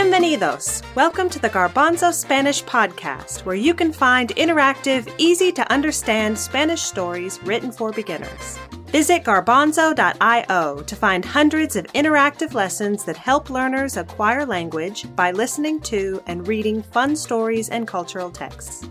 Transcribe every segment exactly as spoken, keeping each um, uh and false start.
Bienvenidos! Welcome to the Garbanzo Spanish podcast, where you can find interactive, easy-to-understand Spanish stories written for beginners. Visit garbanzo dot io to find hundreds of interactive lessons that help learners acquire language by listening to and reading fun stories and cultural texts.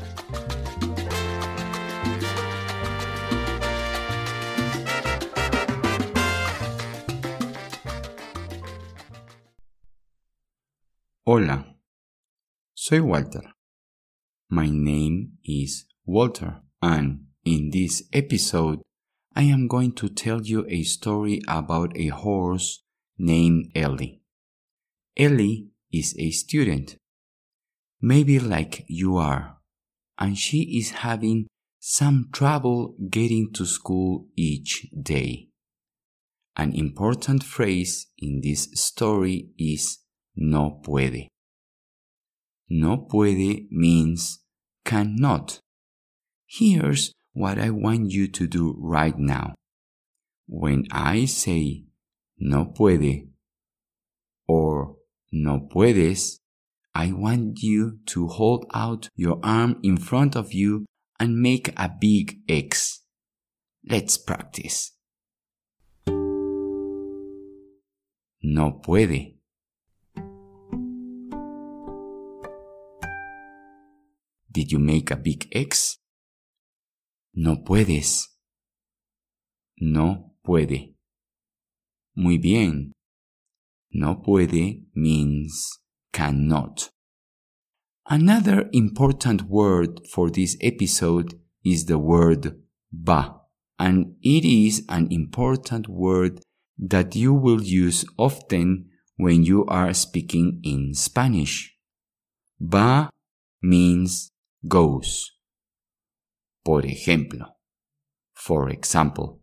Hola, soy Walter. My name is Walter, and in this episode, I am going to tell you a story about a horse named Ellie. Ellie is a student, maybe like you are, and she is having some trouble getting to school each day. An important phrase in this story is no puede. No puede means cannot. Here's what I want you to do right now. When I say no puede or no puedes, I want you to hold out your arm in front of you and make a big X. Let's practice. No puede. Did you make a big X? No puedes. No puede. Muy bien. No puede means cannot. Another important word for this episode is the word va, and it is an important word that you will use often when you are speaking in Spanish. Va means goes. Por ejemplo, for example,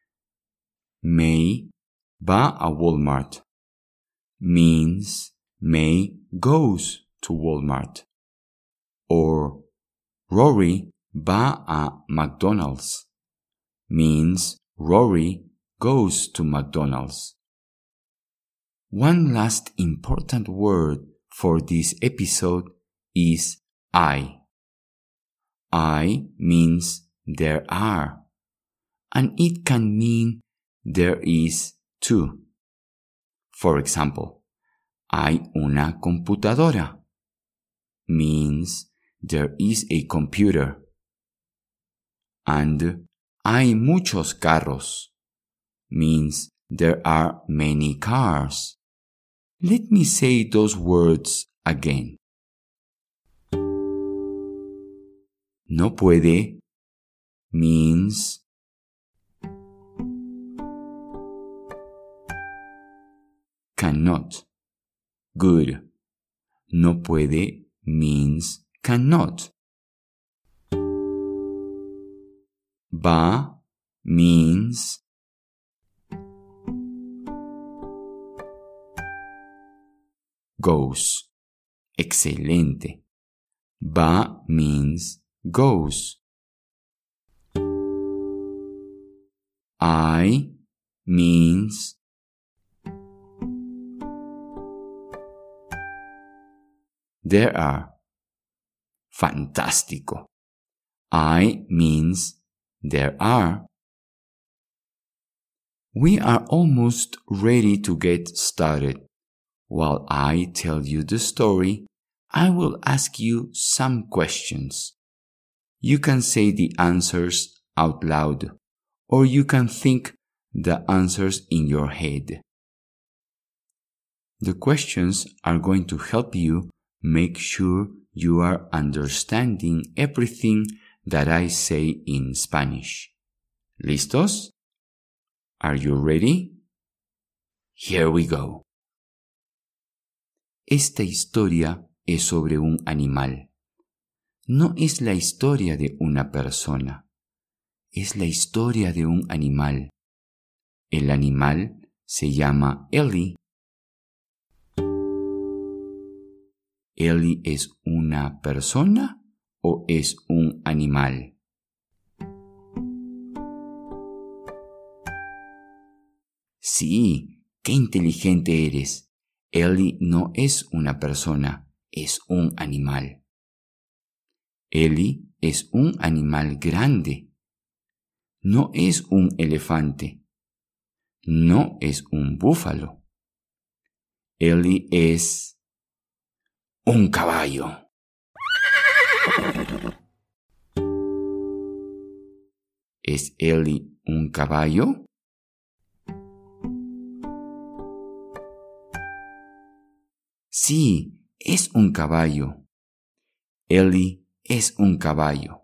May va a Walmart means May goes to Walmart. Or Rory va a McDonald's means Rory goes to McDonald's. One last important word for this episode is I. I means there are, and it can mean there is too. For example, hay una computadora means there is a computer. And hay muchos carros means there are many cars. Let me say those words again. No puede means cannot. Good. No puede means cannot. Va means goes. Excelente. Va means goes. I means there are. Fantástico. I means there are. We are almost ready to get started. While I tell you the story, I will ask you some questions. You can say the answers out loud, or you can think the answers in your head. The questions are going to help you make sure you are understanding everything that I say in Spanish. ¿Listos? Are you ready? Here we go. Esta historia es sobre un animal. No es la historia de una persona. Es la historia de un animal. El animal se llama Ellie. ¿Ellie es una persona o es un animal? Sí, qué inteligente eres. Ellie no es una persona, es un animal. Ellie es un animal grande. No es un elefante. No es un búfalo. Ellie es un caballo. ¿Es Ellie un caballo? Sí, es un caballo. Ellie es un caballo.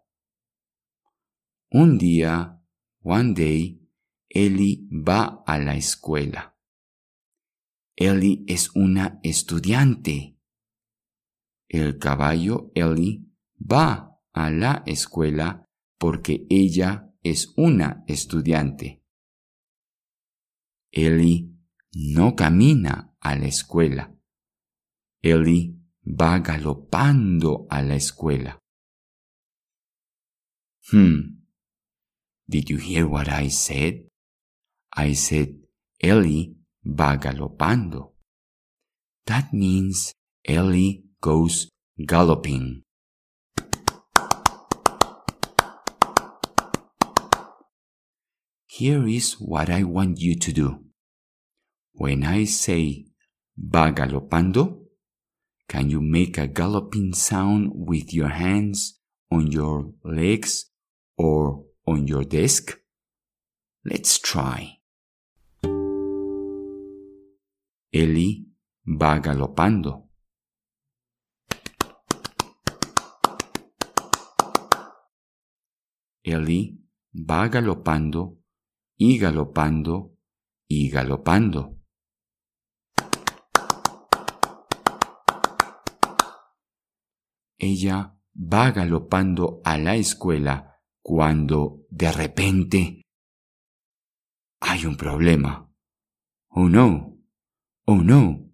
Un día, one day, Ellie va a la escuela. Ellie es una estudiante. El caballo Ellie va a la escuela porque ella es una estudiante. Ellie no camina a la escuela. Ellie va galopando a la escuela. Hmm. Did you hear what I said? I said Ellie va galopando. That means Ellie goes galloping. Here is what I want you to do. When I say va galopando, can you make a galloping sound with your hands on your legs or on your desk? Let's try. Ellie va galopando. Ellie va galopando y galopando y galopando. Ella va galopando a la escuela cuando de repente hay un problema. Oh no, oh no.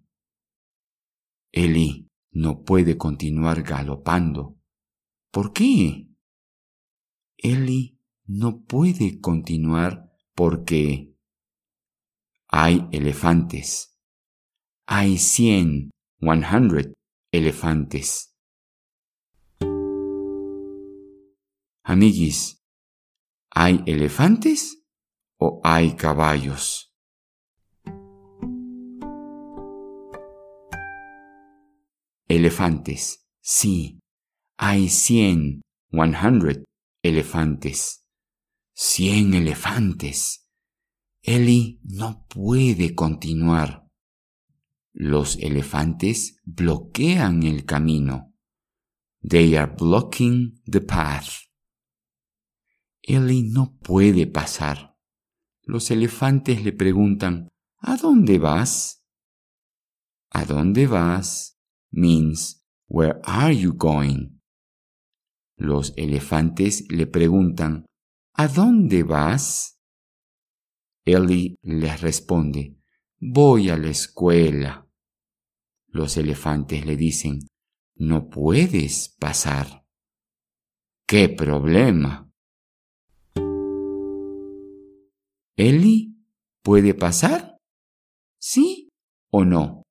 Ellie no puede continuar galopando. ¿Por qué? Ellie no puede continuar porque hay elefantes. Hay cien, one hundred elefantes. Amiguis, ¿hay elefantes o hay caballos? Elefantes, sí, hay cien, one hundred elefantes. Cien elefantes. Ellie no puede continuar. Los elefantes bloquean el camino. They are blocking the path. Ellie no puede pasar. Los elefantes le preguntan, ¿a dónde vas? ¿A dónde vas? Means, where are you going? Los elefantes le preguntan, ¿a dónde vas? Ellie les responde, voy a la escuela. Los elefantes le dicen, no puedes pasar. ¡Qué problema! ¿Ellie puede pasar? ¿Sí o no?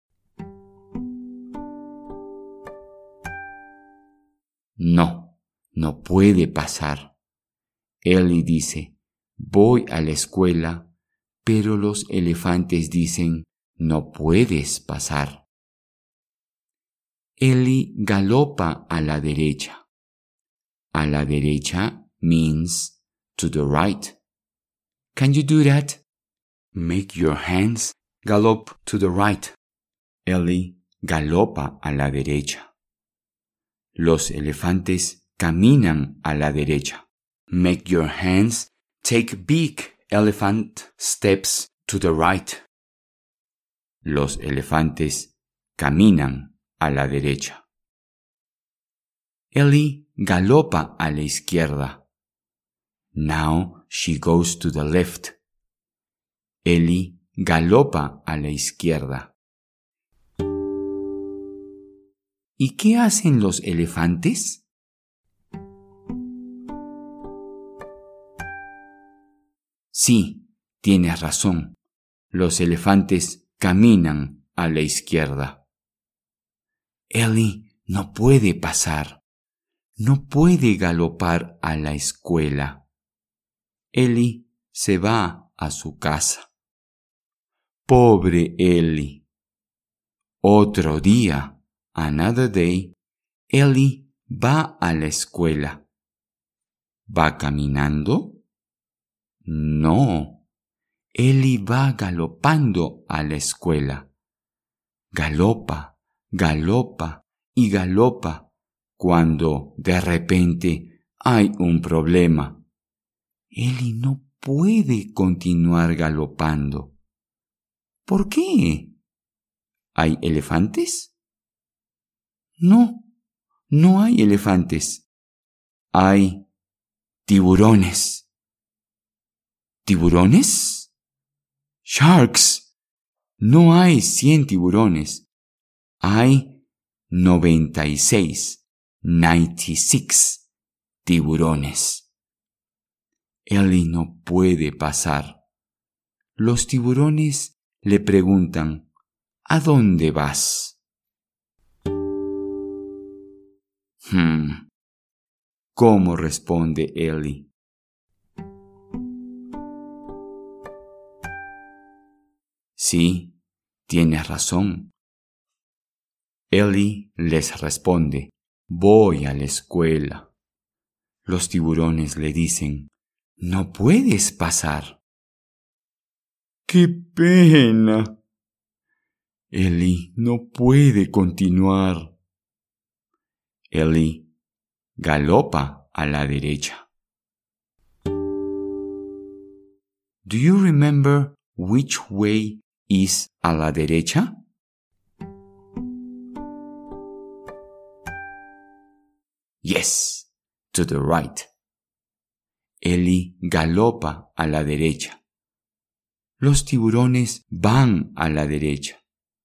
No, no puede pasar. Ellie dice, voy a la escuela, pero los elefantes dicen, no puedes pasar. Ellie galopa a la derecha. A la derecha means to the right. Can you do that? Make your hands gallop to the right. Ellie galopa a la derecha. Los elefantes caminan a la derecha. Make your hands take big elephant steps to the right. Los elefantes caminan a la derecha. Ellie galopa a la izquierda. Now she goes to the left. Ellie galopa a la izquierda. ¿Y qué hacen los elefantes? Sí, tienes razón. Los elefantes caminan a la izquierda. Ellie no puede pasar. No puede galopar a la escuela. Ellie se va a su casa. Pobre Ellie. Otro día, another day, Ellie va a la escuela. ¿Va caminando? No. Ellie va galopando a la escuela. Galopa, galopa y galopa cuando de repente hay un problema. Ellie no puede continuar galopando. ¿Por qué? ¿Hay elefantes? No, no hay elefantes. Hay tiburones. ¿Tiburones? Sharks. No hay cien tiburones. Hay noventa y seis, noventa y seis tiburones. Ellie no puede pasar. Los tiburones le preguntan, ¿a dónde vas? Hmm. ¿Cómo responde Ellie? Sí, tienes razón. Ellie les responde, voy a la escuela. Los tiburones le dicen, no puedes pasar. ¡Qué pena! Ellie no puede continuar. Ellie galopa a la derecha. Do you remember which way is a la derecha? Yes, to the right. Ellie galopa a la derecha. Los tiburones van a la derecha.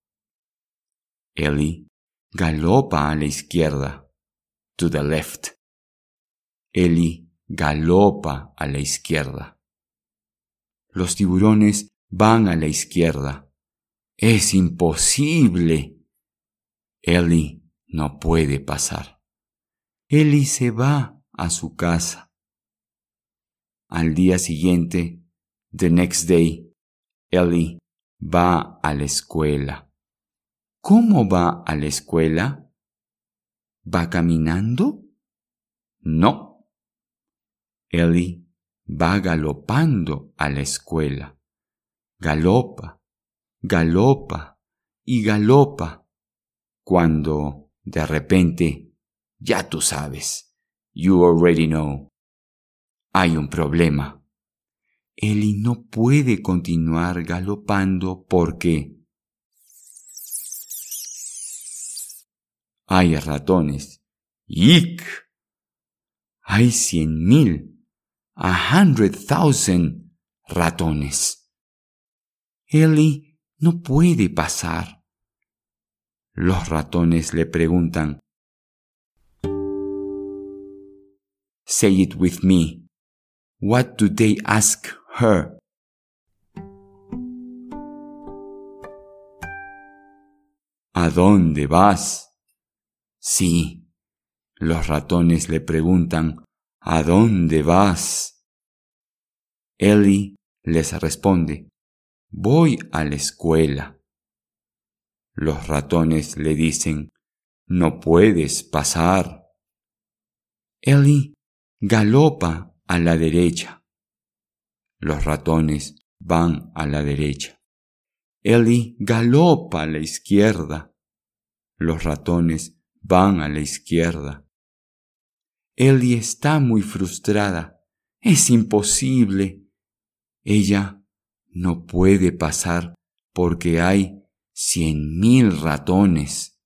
Ellie galopa a la izquierda. To the left. Ellie galopa a la izquierda. Los tiburones van a la izquierda. ¡Es imposible! Ellie no puede pasar. Ellie se va a su casa. Al día siguiente, the next day, Ellie va a la escuela. ¿Cómo va a la escuela? ¿Va caminando? No. Ellie va galopando a la escuela. Galopa, galopa y galopa. Cuando, de repente, ya tú sabes, you already know, hay un problema. Ellie no puede continuar galopando porque hay ratones. ¡Yick! Hay cien mil, a hundred thousand ratones. Ellie no puede pasar. Los ratones le preguntan, say it with me. What do they ask her? ¿A dónde vas? Sí, los ratones le preguntan, ¿a dónde vas? Ellie les responde, voy a la escuela. Los ratones le dicen, no puedes pasar. Ellie galopa a la derecha. Los ratones van a la derecha. Ellie galopa a la izquierda. Los ratones van a la izquierda. Ellie está muy frustrada. Es imposible. Ella no puede pasar porque hay cien mil ratones.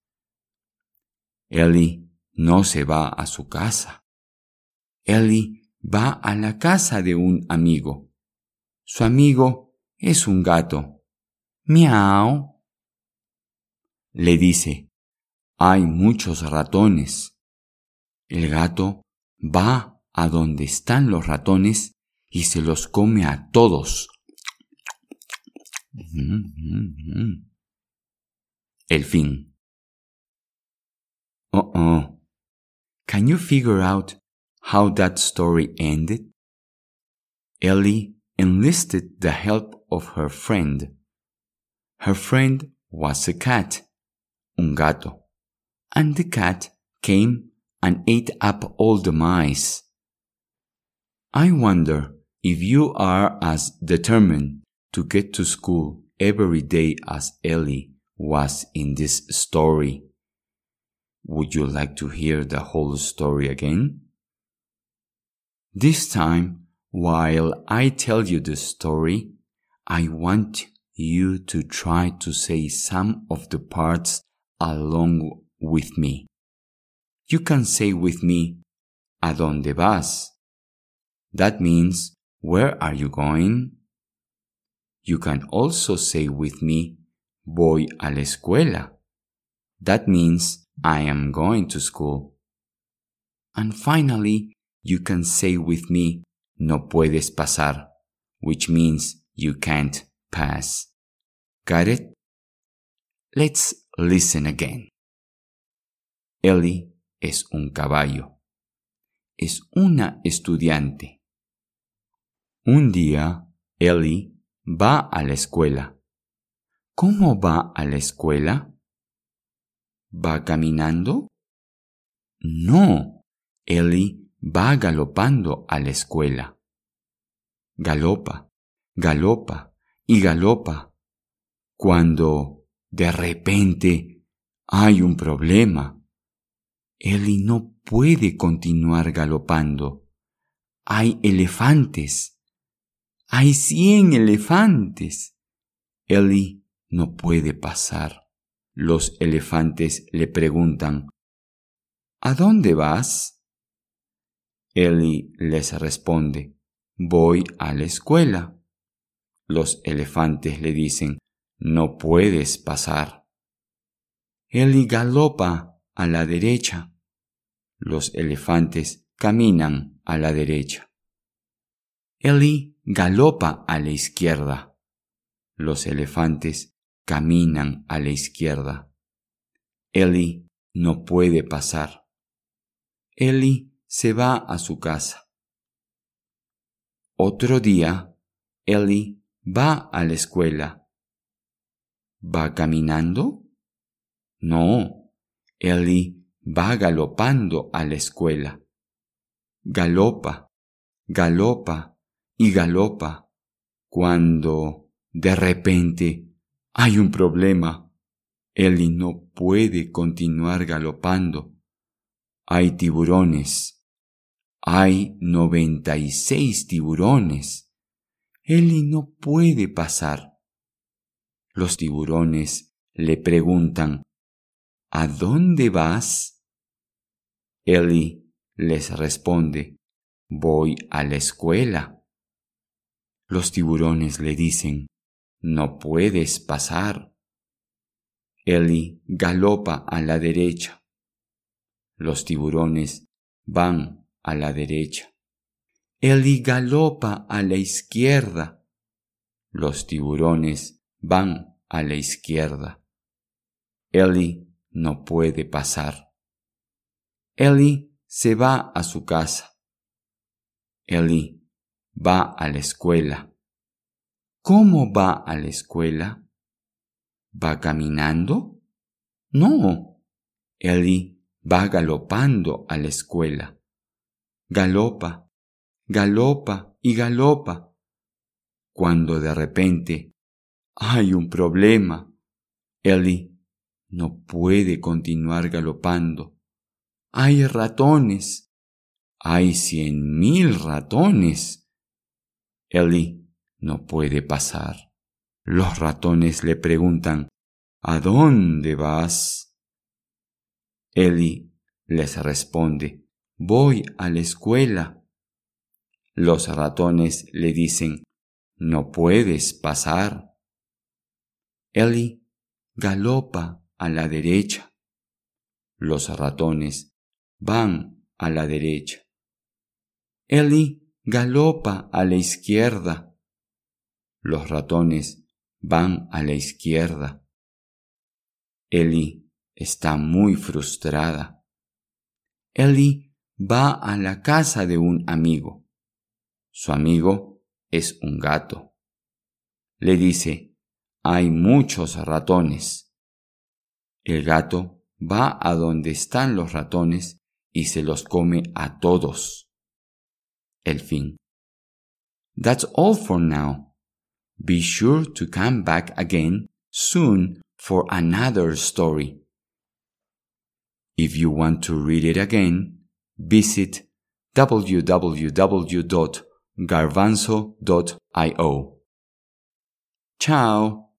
Ellie no se va a su casa. Ellie va a la casa de un amigo. Su amigo es un gato. Miau. Le dice, hay muchos ratones. El gato va a donde están los ratones y se los come a todos. El fin. Uh-oh. Can you figure out how that story ended? Ellie enlisted the help of her friend. Her friend was a cat, un gato, and the cat came and ate up all the mice. I wonder if you are as determined to get to school every day as Ellie was in this story. Would you like to hear the whole story again? This time, while I tell you the story, I want you to try to say some of the parts along with me. You can say with me, ¿A dónde vas? That means, where are you going? You can also say with me, voy a la escuela. That means, I am going to school. And finally, you can say with me, no puedes pasar, which means you can't pass. Got it? Let's listen again. Ellie es un caballo. Es una estudiante. Un día, Ellie va a la escuela. ¿Cómo va a la escuela? ¿Va caminando? No, Ellie va galopando a la escuela. Galopa, galopa y galopa. Cuando, de repente, hay un problema. Ellie no puede continuar galopando. Hay elefantes. Hay cien elefantes. Ellie no puede pasar. Los elefantes le preguntan, ¿a dónde vas? Ellie les responde, voy a la escuela. Los elefantes le dicen, no puedes pasar. Ellie galopa a la derecha. Los elefantes caminan a la derecha. Ellie galopa a la izquierda. Los elefantes caminan a la izquierda. Ellie no puede pasar. Ellie se va a su casa. Otro día, Ellie va a la escuela. ¿Va caminando? No, Ellie va galopando a la escuela. Galopa, galopa y galopa. Cuando, de repente, hay un problema. Ellie no puede continuar galopando. Hay tiburones. Hay noventa y seis tiburones. Ellie no puede pasar. Los tiburones le preguntan, ¿a dónde vas? Ellie les responde, voy a la escuela. Los tiburones le dicen, no puedes pasar. Ellie galopa a la derecha. Los tiburones van a la derecha. Ellie galopa a la izquierda. Los tiburones van a la izquierda. Ellie no puede pasar. Ellie se va a su casa. Ellie va a la escuela. ¿Cómo va a la escuela? ¿Va caminando? No. Ellie va galopando a la escuela. Galopa, galopa y galopa. Cuando de repente hay un problema. Ellie no puede continuar galopando. Hay ratones. Hay cien mil ratones. Ellie no puede pasar. Los ratones le preguntan, ¿a dónde vas? Ellie les responde, voy a la escuela. Los ratones le dicen, no puedes pasar. Ellie galopa a la derecha. Los ratones van a la derecha. Ellie galopa a la izquierda. Los ratones van a la izquierda. Ellie está muy frustrada. Ellie va a la casa de un amigo. Su amigo es un gato. Le dice, hay muchos ratones. El gato va a donde están los ratones y se los come a todos. El fin. That's all for now. Be sure to come back again soon for another story. If you want to read it again, visit w w w dot garbanzo dot i o. Ciao!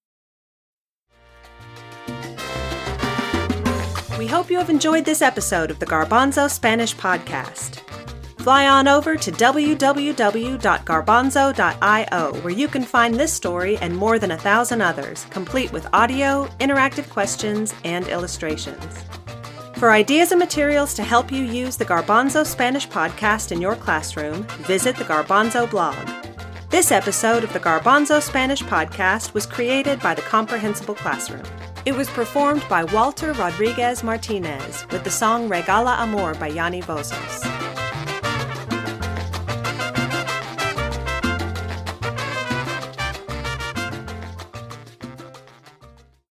We hope you have enjoyed this episode of the Garbanzo Spanish Podcast. Fly on over to w w w dot garbanzo dot i o where you can find this story and more than a thousand others, complete with audio, interactive questions, and illustrations. For ideas and materials to help you use the Garbanzo Spanish Podcast in your classroom, visit the Garbanzo blog. This episode of the Garbanzo Spanish Podcast was created by the Comprehensible Classroom. It was performed by Walter Rodriguez Martinez with the song Regala Amor by Yanni Vozos.